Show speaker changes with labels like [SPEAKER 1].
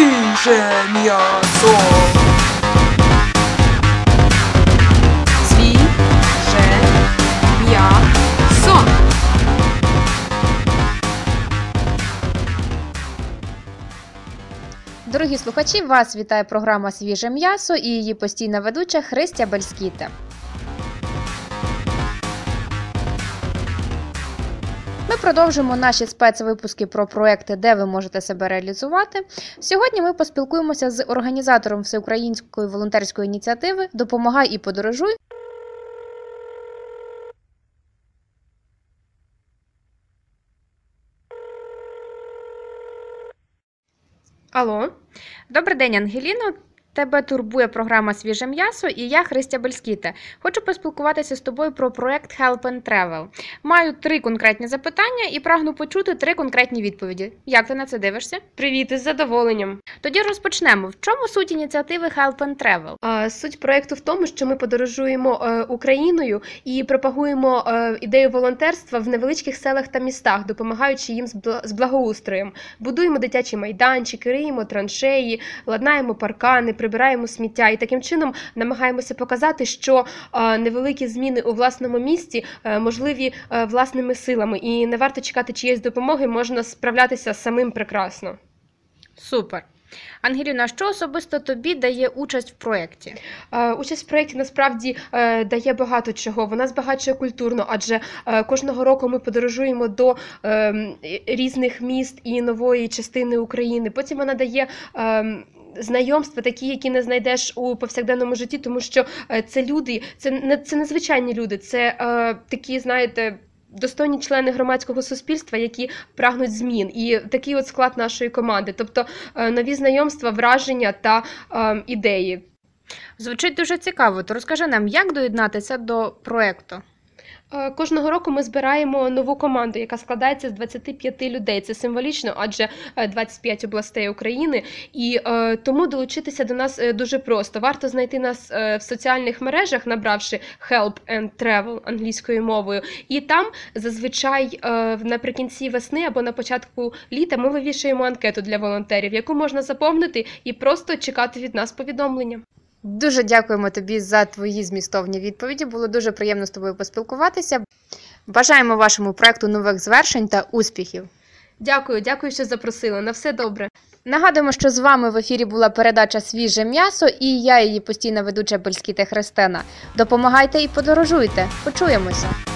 [SPEAKER 1] Свіже м'ясо. Свіже м'ясо.
[SPEAKER 2] Дорогі слухачі, вас вітає програма «Свіже м'ясо» і її постійна ведуча Христя Бельскіта. Ми продовжуємо наші спецвипуски про проекти, де ви можете себе реалізувати. Сьогодні ми поспілкуємося з організатором всеукраїнської волонтерської ініціативи «Допомагай і подорожуй». Алло. Добрий день, Ангеліно. Тебе турбує програма «Свіже м'ясо» і я, Христя Бельскіта. Хочу поспілкуватися з тобою про проект Help and Travel. Маю 3 конкретні запитання і прагну почути 3 конкретні відповіді. Як ти на це дивишся?
[SPEAKER 3] Привіт, із задоволенням.
[SPEAKER 2] Тоді розпочнемо. В чому суть ініціативи Help and Travel?
[SPEAKER 3] Суть проєкту в тому, що ми подорожуємо Україною і пропагуємо ідею волонтерства в невеличких селах та містах, допомагаючи їм з благоустроєм. Будуємо дитячі майданчики, риємо траншеї, ладнаємо паркани, прибираємо сміття і таким чином намагаємося показати, що невеликі зміни у власному місті можливі власними силами і не варто чекати чиєїсь допомоги, можна справлятися самим прекрасно.
[SPEAKER 2] Супер. Ангеліна, що особисто тобі дає участь в проєкті?
[SPEAKER 3] Участь в проєкті насправді дає багато чого. Вона збагачує культурно, адже кожного року ми подорожуємо до різних міст і нової частини України. Потім вона дає знайомства такі, які не знайдеш у повсякденному житті, тому що це люди, це незвичайні люди, це такі, знаєте, достойні члени громадського суспільства, які прагнуть змін. І такий от склад нашої команди. Тобто нові знайомства, враження та ідеї.
[SPEAKER 2] Звучить дуже цікаво. То розкажи нам, як доєднатися до проєкту?
[SPEAKER 3] Кожного року ми збираємо нову команду, яка складається з 25 людей. Це символічно, адже 25 областей України. І тому долучитися до нас дуже просто. Варто знайти нас в соціальних мережах, набравши Help and Travel англійською мовою. І там зазвичай наприкінці весни або на початку літа ми вивішуємо анкету для волонтерів, яку можна заповнити і просто чекати від нас повідомлення.
[SPEAKER 2] Дуже дякуємо тобі за твої змістовні відповіді. Було дуже приємно з тобою поспілкуватися. Бажаємо вашому проекту нових звершень та успіхів.
[SPEAKER 3] Дякую, що запросили. На все добре.
[SPEAKER 2] Нагадуємо, що з вами в ефірі була передача «Свіже м'ясо» і я, її постійна ведуча Бельскіта Христина. Допомагайте і подорожуйте. Почуємося!